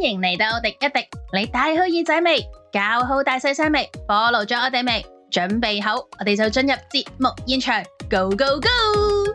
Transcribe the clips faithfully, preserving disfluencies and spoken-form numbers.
迎嚟到廸一廸，你戴好耳仔未？搞好大細聲未？ follow 咗我哋未？準備好，我哋就進入節目現場 ，Go Go Go！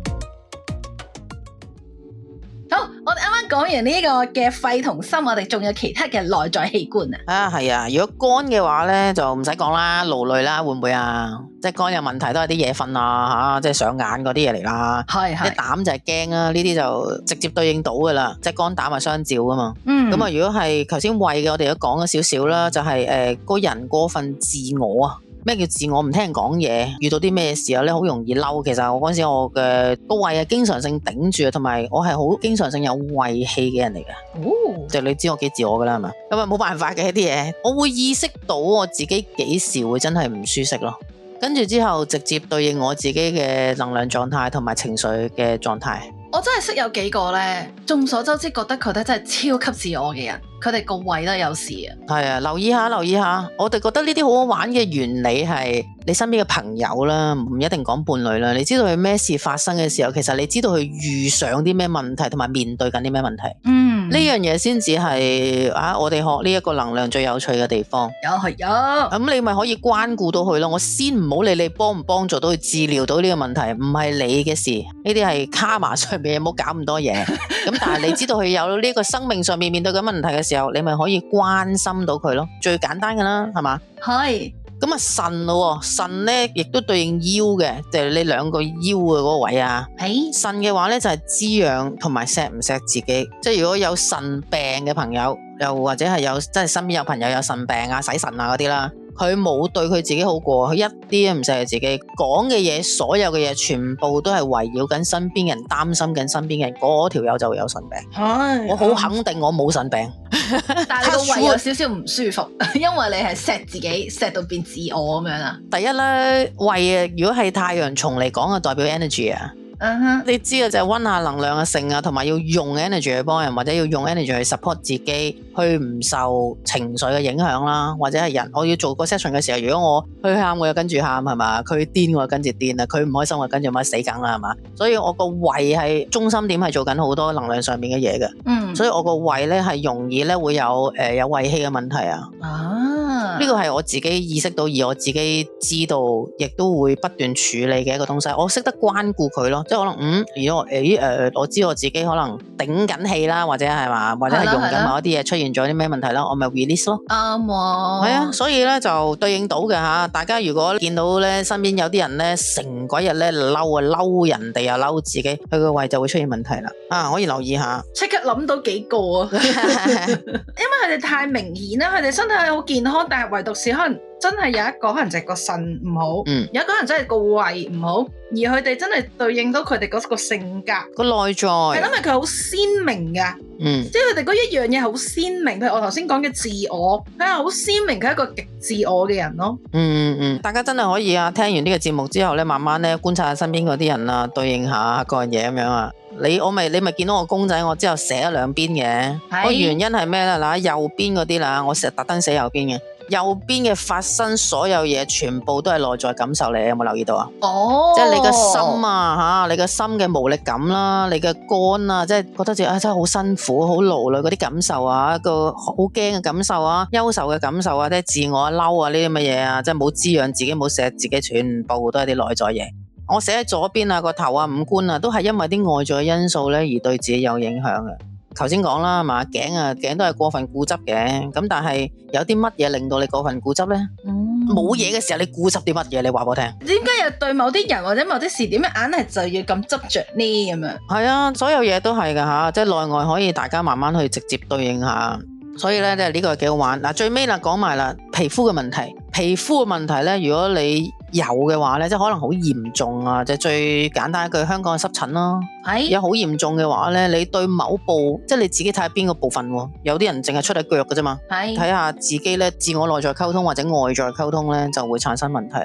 好，我哋啱啱講完呢個嘅肺同心，我哋仲有其他嘅內在器官啊？ 啊，係啊！如果肝嘅話咧，就唔使講啦，勞累啦，會唔會啊？即係肝有問題都係啲夜瞓啊，吓、啊，即係上眼嗰啲嘢嚟啦。係係。啲膽就係驚啦，呢啲就直接對應到噶啦，即係肝膽係相照噶嘛。嗯。咁啊，如果係頭先胃嘅，我哋都講咗少少啦，就係、是、誒，個、呃、人過分自我啊。咩叫自我？唔聽人講嘢，遇到啲咩事啊咧，好容易嬲。其實我嗰陣時我嘅個胃係經常性頂住，同埋我係好經常性有胃氣嘅人嚟嘅。哦，就你知我幾自我噶啦，係嘛？咁啊冇辦法嘅一啲嘢，我會意識到我自己幾時會真係唔舒適咯。跟住之後直接對應我自己嘅能量狀態同埋情緒嘅狀態。 我真係識有幾個咧，眾所周知覺得佢哋真係超級自我嘅人，佢哋個胃都有事啊。 係啊，留意下，留意下。我哋覺得呢啲好好玩嘅原理係你身邊嘅朋友啦，唔一定講伴侶啦。你知道佢咩事發生嘅時候，其實你知道佢遇上啲咩問題，同埋面對緊啲咩問題。嗯，呢樣嘢先至係啊，我哋學呢一個能量最有趣嘅地方。 有係有。咁、 嗯、你咪可以關顧到佢咯。我先唔好理你幫唔幫助到佢治療到呢個問題，唔係你嘅事。呢啲係卡瑪上面，唔好搞咁多嘢。咁但係你知道佢有呢個生命上面面對緊問題嘅時候，你咪可以關心到佢咯。最簡單噶啦，係嘛？係。咁啊腎咯，腎咧亦都對應腰嘅，就係你兩個腰嘅嗰個位啊。係。腎嘅話咧就係滋養同埋錫唔錫自己。即係如果有腎病嘅朋友，又或者係有即係身邊有朋友有腎病啊、洗腎啊嗰啲啦。佢冇對佢自己好過，佢一啲都唔錫佢自己，講嘅嘢，所有嘅嘢全部都係圍繞緊身邊人，擔心緊身邊人，嗰條友就會有腎病。係，我好肯定我冇腎病。 但係你個胃有少少唔舒服，因為你係錫自己，錫到變自我咁樣啊。 第一咧，胃啊，如果係太陽蟲嚟講啊，代表 energy 啊。Uh huh. 你知嘅就係溫下能量嘅性啊，同埋要用 energy 去幫人，或者要用 energy 去 support 自己，去唔受情緒嘅影響啦，或者係人，我要做個 session 嘅時候，如果我佢喊我又跟住喊係嘛，佢癲我又跟住癲啦，佢唔開心我跟住咪死梗啦係嘛，所以我個胃係中心點係做緊好多能量上面嘅嘢嘅，嗯，所以我個胃咧係容易咧會有誒、呃、有胃氣嘅問題啊。啊，呢個係我自己意識到，而我自己知道，亦都會不斷處理嘅一個東西，我識得關顧佢咯。即係可能嗯，如果我誒誒、呃，我知我自己可能頂緊氣啦，或者係嘛，或者係用緊某一啲嘢出現咗啲咩問題啦，我咪 release 咯。啱喎。係啊，所以咧就對應到嘅吓，大家如果見到咧身邊有啲人咧成鬼日咧嬲啊，嬲人哋又嬲自己，佢個胃就會出現問題啦。啊，可以留意下。 即刻諗到幾個啊，因為佢哋太明顯啦，佢哋身體係好健康，但係唯獨是可能。真係有一個可能就係個腎唔好，嗯、有一個可能真係個胃唔好，而佢哋真係對應到佢哋嗰個性格個內在， 係因為佢好鮮明噶，嗯、即係佢哋嗰一樣嘢好鮮明。譬如我頭先講嘅自我，佢係好鮮明，佢係一個極自我嘅人咯。嗯嗯，大家真係可以啊，聽完呢個節目之後咧，慢慢咧觀察下身邊嗰啲人啊，對應下各樣嘢咁樣啊。你我咪你咪見到我公仔，我之後寫咗兩邊嘅，個是原因係咩咧？嗱，右邊嗰啲啦，我成日特登寫右邊嘅。右邊嘅發生所有嘢，全部都係內在感受嚟，有冇留意到啊？哦，即係你個心啊，吓，你個心嘅無力感啦，你嘅肝啊，即係覺得自己啊真係好辛苦、好勞累嗰啲感受啊，一個好驚嘅感受啊，憂愁嘅感受啊，即係自我嬲啊呢啲乜嘢啊，即係冇滋養自己、冇錫自己，全部都係啲內在嘢。我寫喺左邊啊，個頭啊、五官啊，都係因為啲外在嘅因素咧而對自己有影響嘅。頭先講啦，係嘛，頸啊頸都係過分固執嘅，咁但係有啲乜嘢令到你過分固執咧？冇嘢嘅時候你固執啲乜嘢？你話我聽。 點解又對某啲人或者某啲事點樣硬係就要咁執着呢？咁樣係啊，所有嘢都係噶吓，即係內外可以大家慢慢去直接對應下。所以咧，即係呢個幾好玩。嗱，最尾啦，講埋啦，皮膚嘅問題，皮膚嘅問題咧，如果你有嘅話咧，即係可能好嚴重啊，就最簡單一句，香港嘅濕疹咯，係有好嚴重嘅話咧，你對某部，即係你自己睇下邊個部分，有啲人淨係出喺腳嘅啫嘛，係睇下自己咧，自我內在溝通或者外在溝通咧，就會產生問題啦。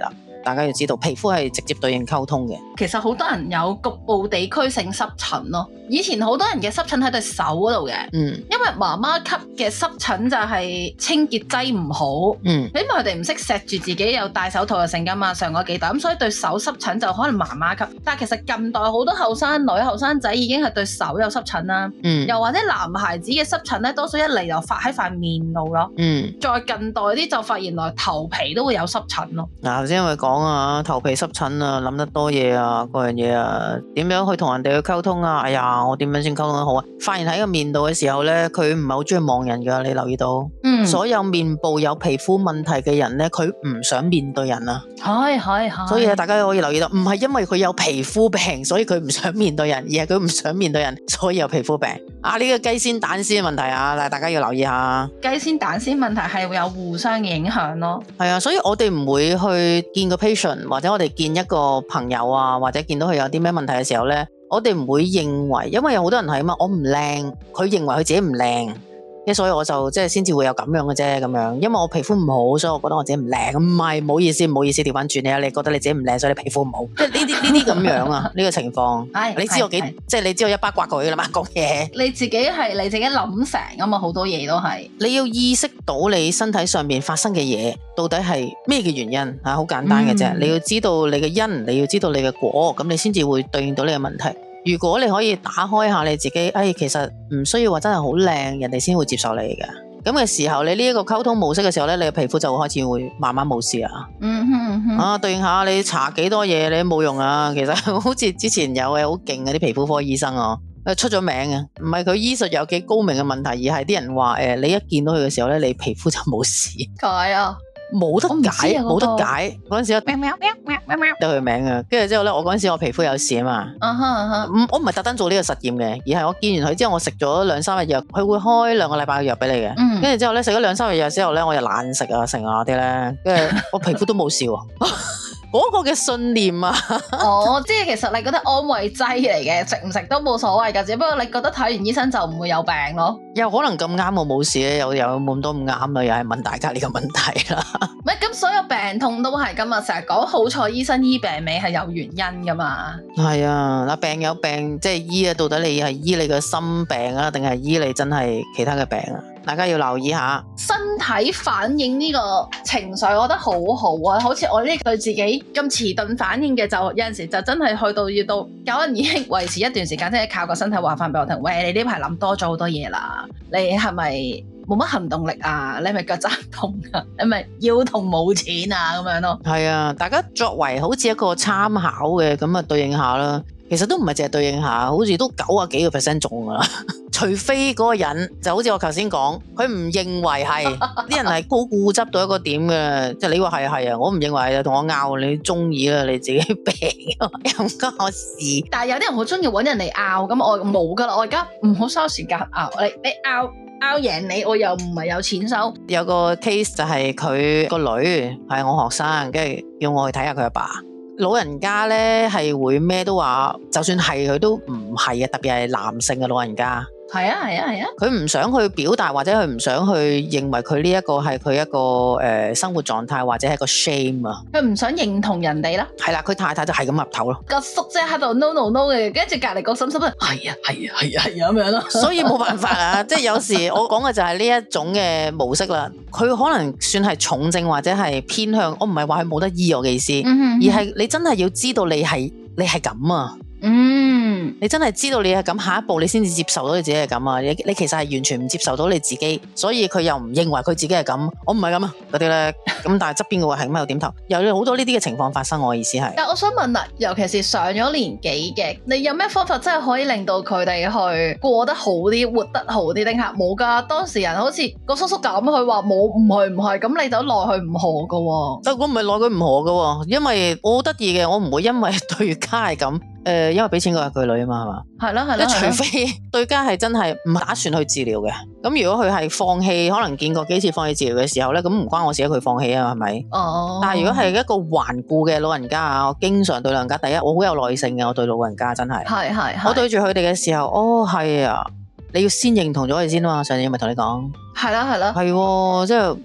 大家要知道皮膚係直接對應溝通嘅。 其實好多人有局部地區性濕疹咯，以前好多人嘅濕疹喺對手嗰度嘅，嗯，因為媽媽級嘅濕疹就係清潔劑唔好，嗯，因為佢哋唔識錫住自己，又戴手套又成噶嘛，上嗰幾代，咁所以對手濕疹就可能媽媽級，但係其實近代好多後生女後生仔已經係對手有濕疹啦，嗯，又或者男孩子嘅濕疹咧，多數一嚟就發喺塊面度咯，嗯，再近代啲就發現原來頭皮都會有濕疹咯。 嗱，頭先因為講啊，頭皮濕疹啊，諗得多嘢啊，嗰樣嘢啊，點樣去同人哋去溝通啊？哎呀，我點樣先溝通得好啊？發現喺個面度嘅時候咧，佢唔係好中意望人噶，你留意到？嗯，所有面部有皮膚問題嘅人咧，佢唔想面對人啊。係係係。所以大家可以留意到，唔係因為佢有皮膚病，所以佢唔想面對人，而係佢唔想面對人，所以有皮膚病。啊，呢個雞先蛋先嘅問題啊，大家要留意下。雞先蛋先問題係會有互相嘅影響咯。係啊，所以我哋唔會去見個 patient， 或者我哋見一個朋友啊，或者見到佢有啲咩問題嘅時候咧，我哋唔會認為，因為有好多人係啊嘛，我唔靚，佢認為佢自己唔靚。所以我就即係先至會有咁樣嘅啫，咁樣，因為我皮膚唔好，所以我覺得我自己唔靚。唔係，唔好意思，唔好意思，調翻轉你啊！你覺得你自己唔靚，所以你皮膚唔好，即係呢啲呢啲咁樣啊，呢個情況。係，你知我幾，即係你知我一巴刮過去噶啦嘛，講嘢。你自己係你自己諗成啊嘛，好多嘢都係。你要意識到你身體上面發生嘅嘢，到底係咩嘅原因啊？好簡單嘅啫，嗯、你要知道你嘅因，你要知道你嘅果，咁你先至會對應到你嘅問題。如果你可以打開下你自己，哎，其實唔需要話真係好靚，人哋先會接受你嘅。咁嘅時候，你呢一個溝通模式嘅時候咧，你嘅皮膚就會開始會慢慢冇事啊。嗯哼嗯哼。啊，對應下你搽幾多嘢你都冇用啊。其實好似之前有嘅好勁嘅啲皮膚科醫生啊，出咗名嘅，唔係佢醫術有幾高明嘅問題，而係啲人話誒、呃，你一見到佢嘅時候咧，你皮膚就冇事。解啊！冇得解，冇得解。嗰陣時我喵喵喵喵喵喵得佢名啊，跟住之後咧，我嗰陣時我皮膚有事啊嘛。Uh huh, uh huh. 我唔係特登做呢個實驗嘅，而係我見完佢之後，我食咗兩三日藥，佢會開兩個禮拜嘅藥俾你嘅。跟住、mm. 之後咧，食咗兩三日藥之後咧，我又懶食啊，成啊啲咧，跟住我皮膚都冇事喎。嗰個嘅信念啊，哦，即係其實你覺得安慰劑嚟嘅，食唔食都冇所謂㗎，只不過你覺得睇完醫生就唔會有病咯。又可能咁啱我冇事咧，又有冇咁多咁啱啦，又係問大家呢個問題啦。唔係咁，所有病痛都係㗎嘛，成日講好彩醫生醫病尾係有原因㗎嘛。係啊，嗱，病有病即係醫啊，到底你係醫你個心病啊，定係醫你真係其他嘅病啊？大家要留意下身體反應呢個情緒，我覺得好好啊！好似我呢對自己咁遲鈍反應嘅，就有陣時就真係去到要到有人已經維持一段時間，即係靠個身體話翻俾我聽，喂，你呢排諗多咗好多嘢啦，你係咪冇乜行動力啊？你係咪腳踭痛啊？你係咪腰痛冇錢啊？咁樣咯。係啊，大家作為好似一個參考嘅咁啊，對應下啦。其實都唔係淨係對應下，好似都九啊幾個 percent 中噶啦。除非嗰個人就好似我頭先講，佢唔認為係啲人係好固執到一個點嘅，即係你話係啊係啊，我唔認為啊，同我拗，你中意啦，你自己病又唔關我事。但係有啲人好中意搵人嚟拗，咁我冇噶啦，我而家唔好嘥時間拗，你你拗拗贏你，我又唔係有錢收。有個 case 就係佢個女係我學生，跟住叫我去睇下佢阿爸。老人家咧係會咩都話，就算係佢都唔係啊，特別係男性嘅老人家。係啊係啊係啊，佢唔、啊啊、想去表達，或者佢唔想去認為佢呢一個係佢一個誒、呃、生活狀態，或者係個 shame 啊。佢唔想認同人哋啦。係啦，佢太太就係咁岌頭咯。個叔姐喺度 no no no 嘅，跟住隔籬個嬸嬸咧，係啊係啊係啊係啊咁樣咯。所以冇辦法啊，即係有時我講嘅就係呢一種嘅模式啦。佢可能算係重症或者係偏向，我唔係話佢冇得醫我嘅意思，嗯、哼哼而係你真係要知道你係你係咁啊。嗯，你真係知道你係咁，下一步你先至接受到你自己係咁啊！你你其實係完全唔接受到你自己，所以佢又唔認為佢自己係咁，我唔係咁啊嗰啲咧，咁但係側邊嘅話係咁喺度點頭，有好多呢啲嘅情況發生，我意思係。但我想問啦，尤其是上咗年紀嘅，你有咩方法真係可以令到佢哋去過得好啲，活得好啲？定係冇噶？當事人好似個叔叔咁，佢話冇，唔係唔係，咁你就奈佢唔何噶？但我唔係奈佢唔何噶，因為我好得意嘅，我唔會因為對家係咁。誒、呃，因為俾錢嗰係佢女啊嘛，係嘛？係咯係咯。除非對家係真係唔打算去治療嘅，咁如果佢係放棄，可能見過幾次放棄治療嘅時候咧，咁唔關我事，佢放棄啊，係咪？哦。但係如果係一個頑固嘅老人家啊，我經常對老人家，第一我好有耐性嘅，我對老人家真係。係係係。我對住佢哋嘅時候，哦係啊，你要先認同咗佢先啊嘛，上次咪同你講。係啦係啦。係，即係嗯。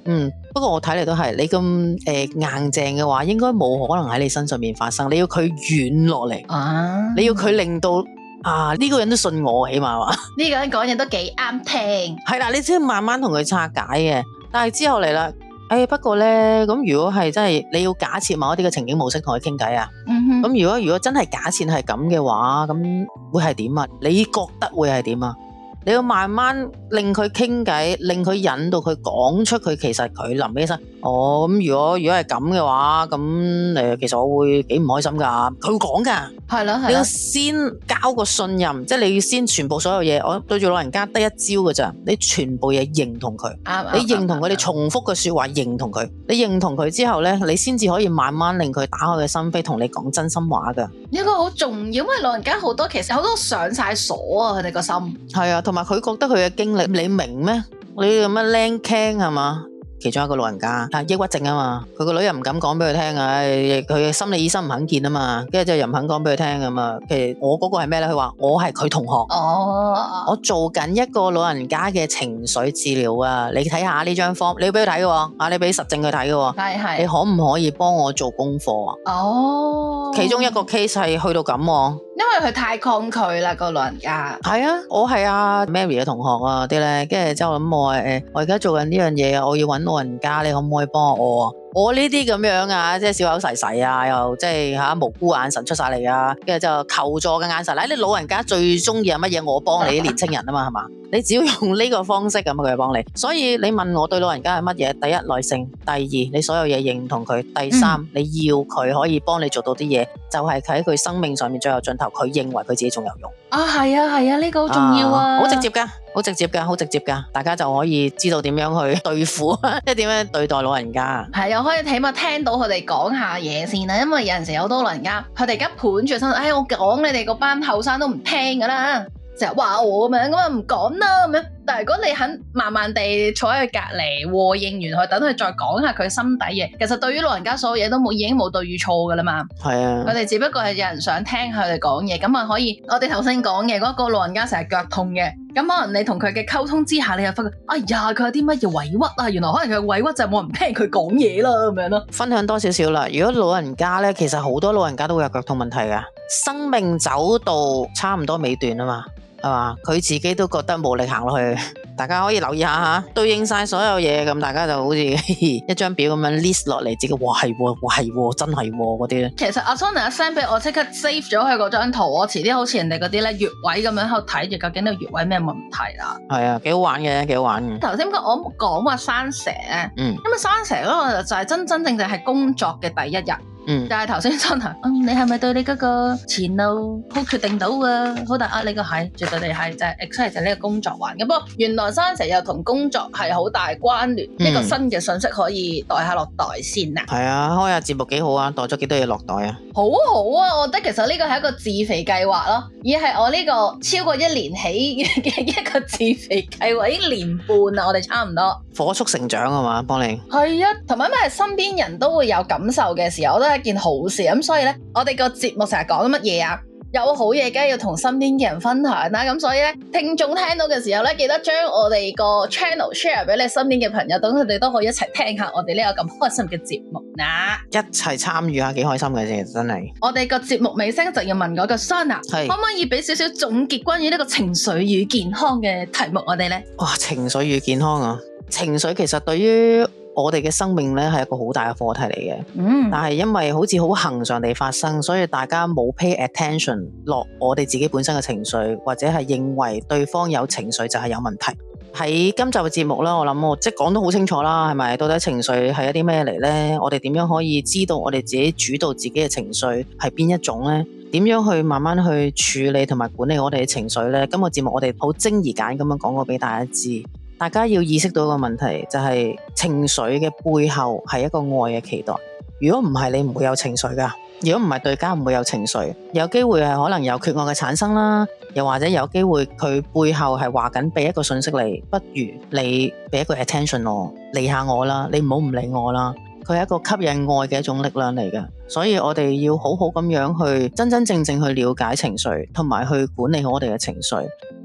不過我睇嚟都係你咁誒、呃、硬淨嘅話，應該冇可能喺你身上面發生。你要佢軟落嚟，啊、你要佢令到啊呢、這個人都信我，起碼話呢個人講嘢都幾啱聽。 係啦，你只要慢慢同佢拆解嘅。但係之後嚟啦，誒、哎、不過咧，咁如果係真係你要假設某一啲嘅情景模式同佢傾偈啊，咁、嗯、哼如果如果真係假設係咁嘅話，咁會係點啊？你覺得會係點啊？你要慢慢令佢傾偈，令佢引導佢講出佢其實佢臨尾起身，哦咁如果如果係咁嘅話，咁誒其實我會幾唔開心噶，佢會講噶，係啦係啦，你要先交個信任，即係你要先全部所有嘢，我對住老人家得一招噶咋，你全部嘢認同佢，你認同佢，你重複嘅說話認同佢，你認同佢之後咧，你先至可以慢慢令佢打開嘅心扉，同你講真心話噶。呢個好重要，因為老人家好多其實好多上晒鎖啊，佢哋個心係啊。同埋佢覺得佢嘅經歷，你明咩？你咁樣靚傾係嘛？其中一個老人家啊，抑鬱症啊嘛，佢個女又唔敢講俾佢聽啊，佢嘅心理醫生唔肯見啊嘛，跟住就又唔肯講俾佢聽咁啊。其實我嗰個係咩咧？佢話我係佢同學，哦，我做緊一個老人家嘅情緒治療啊，你睇下呢張 form，你要俾佢睇嘅，啊，你俾實證佢睇嘅，係係，你可唔可以幫我做功課啊？哦，其中一個 case 係去到咁，因為佢太抗拒啦，個老人家。係啊，我係阿 Mary 嘅同學啊啲咧，跟住之後諗我誒，我而家做緊呢樣嘢啊，我要揾老人家，你可唔可以幫我啊？我呢啲咁樣啊，即係小口噬噬啊，又即係吓無辜眼神出晒嚟啊，跟住就求助嘅眼神。嗱，你老人家最中意係乜嘢？我幫你啲年青人啊嘛，係嘛？你只要用呢個方式咁，佢就幫你。所以你問我對老人家係乜嘢？第一，耐性；第二，你所有嘢認同佢；第三，嗯、你要佢可以幫你做到啲嘢，就係喺佢生命上面最後盡頭，佢認為佢自己仲有用。啊，係啊，係啊，呢、這個好重要啊！好、啊、直接噶，好直接噶，好直接噶，大家就可以知道點樣去對付，即係點樣對待老人家。係啊，可以起碼聽到佢哋講下嘢先啦，因為有陣時有好多老人家，佢哋而家盤住身，哎，我講你哋嗰班後生都唔聽噶啦。成日話我咁樣，咁啊唔講啦咁樣。但係如果你肯慢慢地坐喺佢隔籬和應完佢，等佢再講下佢心底嘢，其實對於老人家所有嘢都冇，已經冇對與錯噶啦嘛。係啊，佢哋只不過係有人想聽佢哋講嘢，咁啊可以。我哋頭先講嘅嗰個老人家成日腳痛嘅，咁可能你同佢嘅溝通之下，你又發覺，哎呀，佢有啲乜嘢委屈啊？原來可能佢嘅委屈就係冇人聽佢講嘢啦，咁樣咯。分享多少少啦。如果老人家咧，其實好多老人家都會有腳痛問題噶，生命走到差唔多尾段啊嘛。係嘛？佢自己都覺得冇力行落去，大家可以留意下吓，對應晒所有嘢，咁大家就好似一張表咁樣 list 落嚟，自己哇係喎，哇係喎，真係嗰啲咧。其實阿 Sona send 俾我，即刻 save 咗佢嗰張圖，我遲啲好似人哋嗰啲咧穴位咁樣喺度睇住，究竟呢個穴位咩問題啦？係啊，幾好玩嘅，幾好玩嘅。頭先我講話生蛇咧，嗯，因為生蛇嗰個就係真真正正係工作嘅第一日。嗯，但係頭先真係，嗯，你係咪對你嗰個前路好決定到啊？好大壓力個係，絕對地係就係 exactly 就係呢個工作環境。不過原來生蛇又同工作係好大關聯，呢、嗯、個新嘅信息可以袋下落袋先啊。係啊，開下節目幾好啊，袋咗幾多嘢落袋啊？好好啊，我覺得其實呢個係一個自肥計劃咯，而係我呢個超過一年起嘅一個自肥計劃，已經年半啦，我哋差唔多火速成長啊嘛，幫你係啊，同埋因為身邊人都會有感受嘅時候，我都係一件好事咁，所以咧，我哋個節目成日講乜嘢啊？有好嘢，梗係要同身邊嘅人分享啦。咁所以咧，聽眾聽到嘅時候咧，記得將我哋個 channel share 俾你身邊嘅朋友，等佢哋都可以一齊聽下我哋呢個咁開心嘅節目啦。一齊參與下，幾開心嘅啫，真係。我哋個節目尾聲就要問嗰個 Sona，係可唔可以俾少少總結關於呢個情緒與健康嘅題目我哋咧？哇，情緒與健康啊！情緒其實對於我哋嘅生命咧係一個好大嘅課題嚟嘅，嗯，但係因為好似好恆常地發生，所以大家冇 pay attention 落我哋自己本身嘅情緒，或者係認為對方有情緒就係有問題。喺今集嘅節目啦，我諗我即係講得好清楚啦，係咪？到底情緒係一啲咩嚟呢？我哋點樣可以知道我哋自己主導自己嘅情緒係邊一種呢？點樣去慢慢去處理同埋管理我哋嘅情緒呢？今個節目我哋好精而簡咁樣講過俾大家知。大家要意識到一個問題，就係情緒嘅背後係一個愛嘅期待。如果唔係，你唔會有情緒噶。如果唔係，對家唔會有情緒。有機會係可能有缺愛嘅產生啦，又或者有機會佢背後係話緊俾一個信息你，不如你俾一個 attention 我，理下我啦，你唔好唔理我啦。佢係一個吸引愛嘅一種力量嚟嘅，所以我哋要好好咁樣去真真正正去了解情緒，同埋去管理好我哋嘅情緒。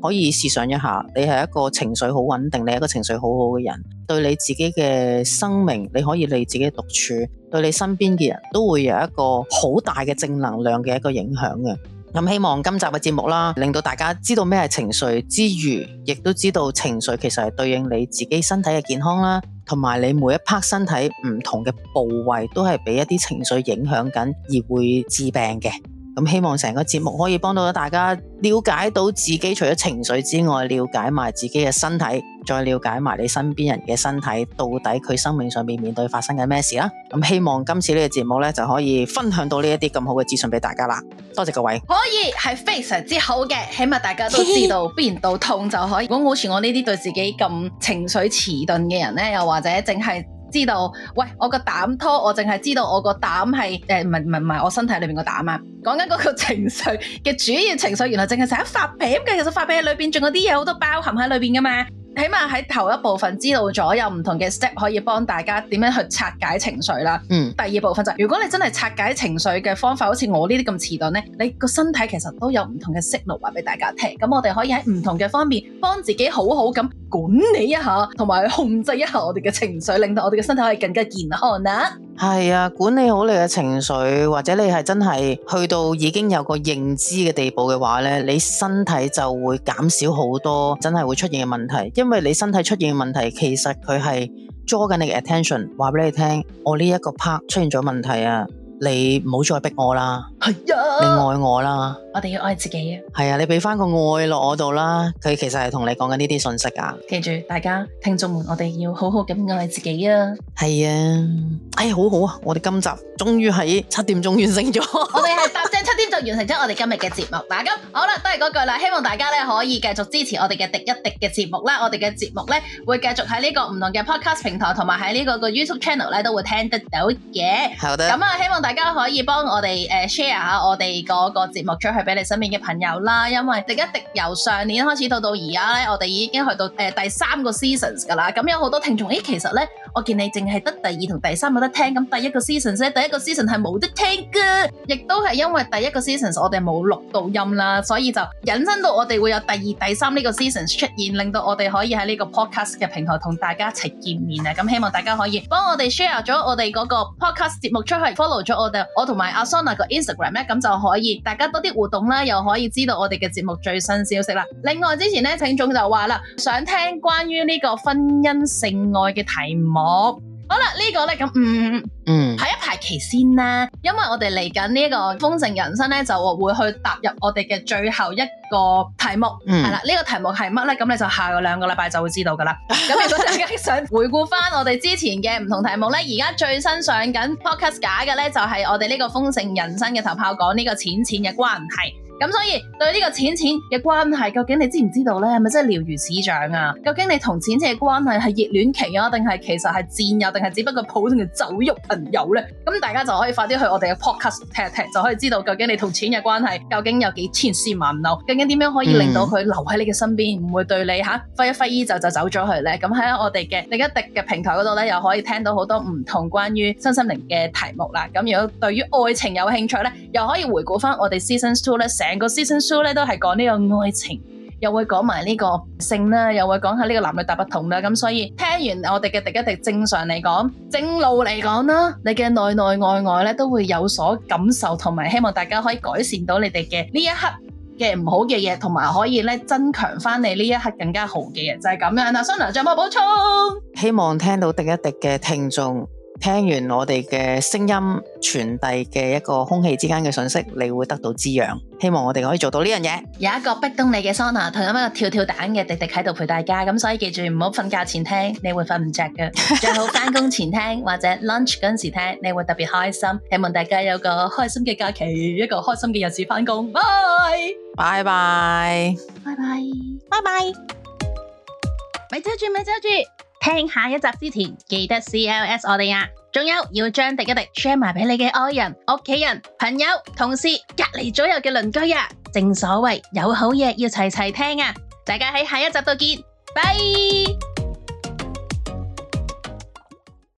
可以試想一下，你係一個情緒好穩定，你係一個情緒好好嘅人，對你自己嘅生命，你可以你自己獨處，對你身邊嘅人都會有一個好大嘅正能量嘅一個影響嘅。咁希望今集嘅節目啦，令到大家知道咩係情緒之餘，亦都知道情緒其實係對應你自己身體嘅健康啦，同埋你每一 part 身體唔同嘅部位都係俾一啲情緒影響緊而會致病嘅。咁希望成個節目可以幫到大家了解到自己除咗情緒之外，了解埋自己嘅身體，再了解埋你身邊人嘅身體，到底佢生命上面面對發生緊咩事啦。咁希望今次呢個節目呢，就可以分享到呢一啲咁好嘅資訊俾大家啦。多謝各位。 可以係非常之好嘅，起碼大家都知道邊度痛就可以。如果好似我呢啲對自己咁情緒遲鈍嘅人呢，又或者淨係知道，喂，我個膽拖，我淨係知道我個膽係誒，唔係唔係唔係我身體裏邊個膽啊，講緊嗰個情緒嘅主要情緒，原來淨係成日發脾氣嘅，其實發脾氣裏邊仲有啲嘢好多包含喺裏邊噶嘛。起碼喺頭一部分知道咗有唔同嘅 step 可以幫大家點樣去拆解情緒啦。嗯，第二部分就係、如果你真係拆解情緒嘅方法，好似我呢啲咁遲鈍咧，你個身體其實都有唔同嘅 signal 話俾大家聽。咁我哋可以喺唔同嘅方面幫自己好好咁管理一下，同埋控制一下我哋嘅情緒，令到我哋嘅身體可以更加健康啦。 係啊，管理好你嘅情緒，或者你係真係去到已經有個認知嘅地步嘅話咧，你身體就會減少好多真係會出現嘅問題。因為你身體出現嘅問題，其實佢係捉緊你嘅 attention， 話俾你聽，我呢一個 part 出現咗問題啊，你唔好再逼我啦，係啊，你愛我啦， 我哋要愛自己啊， 係啊，你俾翻個愛落我度啦，佢其實係同你講緊呢啲信息啊。 記住，大家聽眾們，我哋要好好咁愛自己啊。 係啊，哎，好好啊，我哋今集終於喺七點鐘完成咗， 我哋係搭正七點就完成咗我哋今日嘅節目。嗱，咁好啦，都係嗰句啦，希望大家咧可以繼續支持我哋嘅廸一廸嘅節目啦。我哋嘅節目咧會繼續喺呢個唔同嘅 podcast 平台，同埋喺呢個個 YouTube channel 咧都會聽得到嘅。好的。咁啊，希望大家可以幫我哋誒 share 下我哋嗰個節目出去俾你身邊嘅朋友啦。因為廸一廸由上年開始到到而家咧，我哋已經去到誒、呃、第三個 seasons 噶啦。咁有好多聽眾，誒其實咧，我見你淨係得第二同第三有得聽，咁第一個 season 咧，第一個 season 係冇得聽噶，亦都係因為第一個 season 我哋冇錄到音啦，所以就引申到我哋會有第二、第三呢個 season 出現，令到我哋可以喺呢個 podcast 嘅平台同大家一齊見面啊！咁希望大家可以幫我哋 share 咗我哋嗰個 podcast 節目出去 ，follow 咗我哋，我同埋阿 Sona 個 Instagram 咧，咁就可以大家多啲互動啦，又可以知道我哋嘅節目最新消息啦。另外之前咧，聽眾就話啦，想聽關於呢個婚姻性愛嘅題目。好啦，這個、呢個咧咁，嗯嗯，排一排期先啦，因為我哋嚟緊呢一個豐盛人生咧，就會去踏入我哋嘅最後一個題目，係啦、嗯，呢、這個題目係乜咧？咁你就下個兩個禮拜就會知道噶啦。咁如果大家想回顧翻我哋之前嘅唔同題目咧，而家最新上緊 podcast 假嘅咧，就係、是、我哋呢個豐盛人生嘅頭炮講呢個錢錢嘅關係。咁所以對呢個錢錢嘅關係，究竟你知唔知道咧？係咪真係了如指掌啊？究竟你同錢錢嘅關係係熱戀期啊，定係其實係戰友，定係只不過普通嘅酒肉朋友咧？咁大家就可以快啲去我哋嘅 podcast 聽一聽，就可以知道究竟你同錢嘅關係究竟有幾千絲萬縷，究竟點樣可以令到佢留喺你嘅身邊，唔、嗯、會對你吓揮一揮衣袖就走咗去咧？咁喺我哋嘅廸一廸嘅平台嗰度咧，又可以聽到好多唔同關於身心靈嘅題目啦。咁如果對於愛情有興趣咧，又可以回顧翻我哋 season two 咧。成個 season two 咧都係講呢個愛情，又會講埋呢個性啦，又會講下呢個男女大不同啦。咁所以聽完我哋嘅廸一廸，正常嚟講，正路嚟講啦，你嘅內內外外咧都會有所感受，同埋希望大家可以改善到你哋嘅呢一刻嘅唔好嘅嘢，同埋可以咧增強翻你呢一刻更加好嘅嘢，就係、是、咁樣。嗱，Sona仲有冇補充？ 希望聽到廸一廸嘅聽眾，聽完我哋嘅聲音傳遞嘅一個空氣之間嘅信息，你會得到滋養。希望我哋可以做到呢樣嘢。有一個逼咚你嘅 Sona 同一個跳跳蛋嘅廸廸喺度陪大家，咁所以記住唔好瞓覺前聽，你會瞓唔着嘅。最好翻工前聽或者 lunch 嗰陣時聽，你會特別開心。希望大家有個開心嘅假期，一個開心嘅日子翻工。拜拜拜拜拜拜拜。咪走住咪走住，聽下一集之前記得 C L S 我哋啊！仲有要將廸一廸 share 埋俾你嘅愛人、屋企人、朋友、同事、隔籬左右嘅鄰居啊！正所謂有好嘢要齊齊聽啊！大家喺下一集度見，拜。